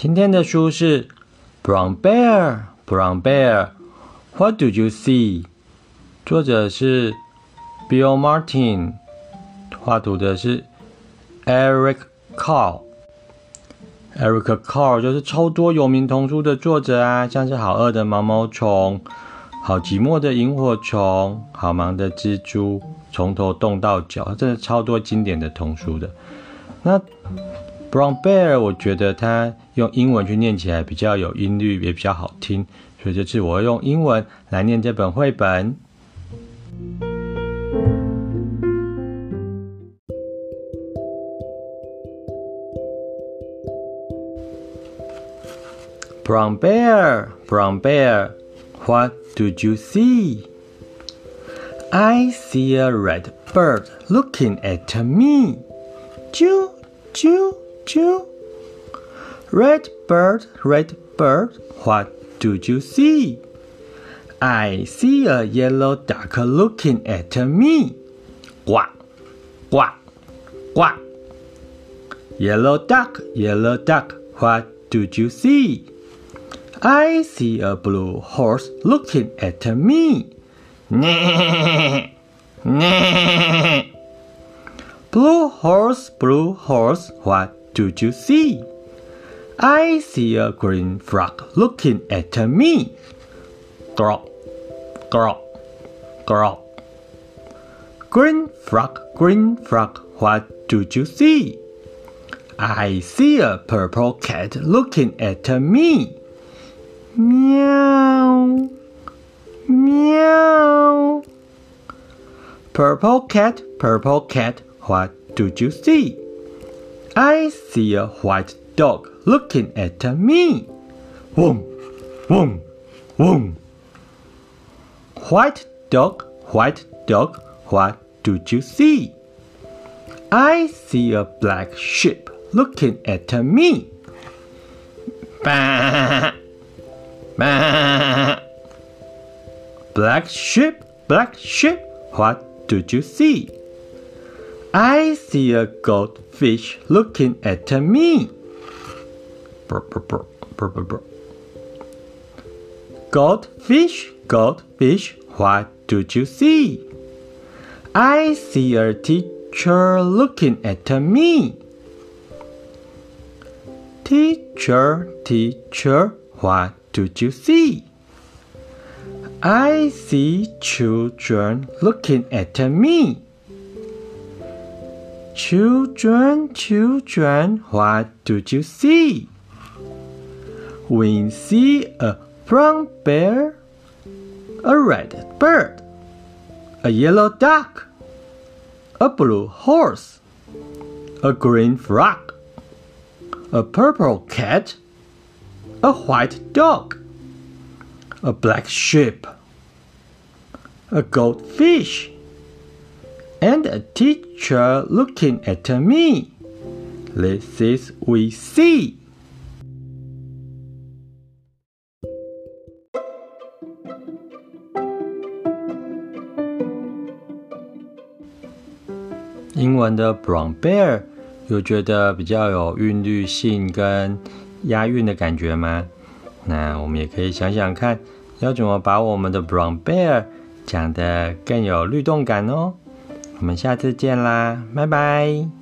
今天的书是 Brown Bear, Brown Bear, What do you see? 作者是 Bill Martin， 画图的是 Eric Carle。Eric Carle 就是超多有名童书的作者啊，像是好饿的毛毛虫、好寂寞的萤火虫、好忙的蜘蛛、从头冻到脚，真的超多经典的童书的。那 Brown Bear 我觉得它用英文去念起来比较有音律，也比较好听，所以这次我会用英文来念这本绘本。Brown Bear, Brown Bear, what do you see? I see a red bird looking at me. Choo, choo, choo. Red bird, what do you see? I see a yellow duck looking at me. Quack, quack, quack. Yellow duck, what do you see? I see a blue horse looking at me. Nah, nah. Blue horse, what do you see? I see a green frog looking at me. Grok, grok, grok. Green frog, what do you see? I see a purple cat looking at me. Meow, meow. Purple cat, what do you see? I see a white dog looking at me. Whoom, whoom, whoom. White dog, what do you see? I see a black sheep looking at me. Bah, bah. Black sheep, what do you see? I see a goldfish looking at me. Brr, brr, brr, brr, brr, brr. Goldfish, what do you see? I see a teacher looking at me. Teacher, what do you see? I see children looking at me. Children, what do you see? We see a brown bear, a red bird, a yellow duck, a blue horse, a green frog, a purple cat, a white dog, a black sheep, a goldfish, and a teacher looking at me. This is we see. 英文的 Brown Bear 有觉得比较有韵律性跟押韵的感觉吗？那我们也可以想想看，要怎么把我们的 Brown Bear 讲得更有律动感哦。我们下次见啦，拜拜。